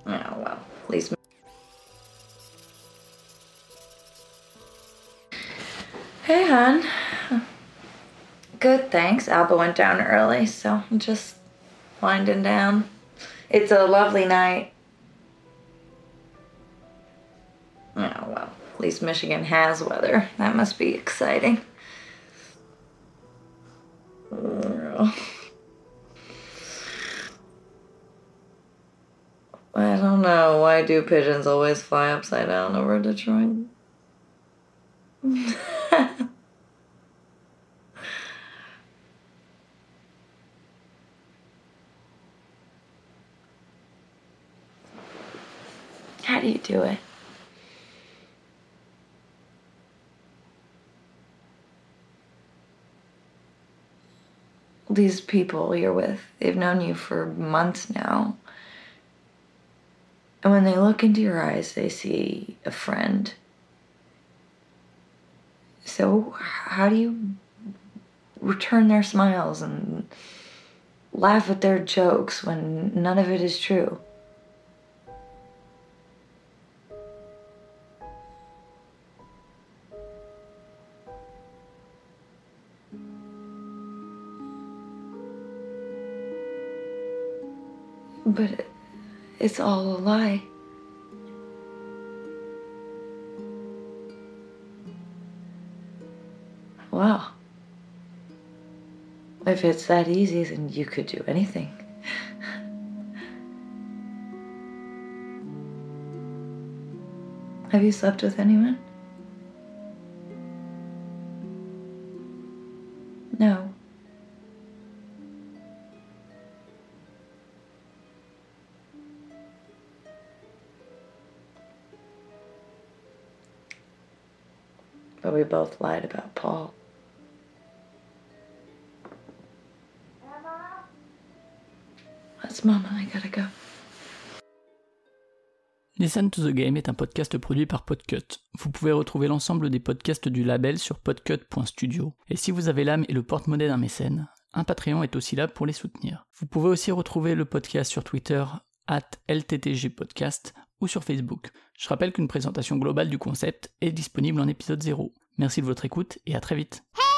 Oh, well, please. Hey, hon. Good, thanks. Alba went down early, so I'm just winding down. It's a lovely night. Oh, well, at least Michigan has weather. That must be exciting. I don't know. Why do pigeons always fly upside down over Detroit? How do you do it? These people you're with, they've known you for months now. And when they look into your eyes, they see a friend. So how do you return their smiles and laugh at their jokes when none of it is true? But it's all a lie. Wow. If it's that easy, then you could do anything. Have you slept with anyone? No. But we both lied about Paul. That's Mama, I gotta go. Listen to the Game est un podcast produit par Podcut. Vous pouvez retrouver l'ensemble des podcasts du label sur podcut.studio. Et si vous avez l'âme et le porte-monnaie d'un mécène, un Patreon est aussi là pour les soutenir. Vous pouvez aussi retrouver le podcast sur Twitter @LTTGpodcast ou sur Facebook. Je rappelle qu'une présentation globale du concept est disponible en épisode 0. Merci de votre écoute et à très vite.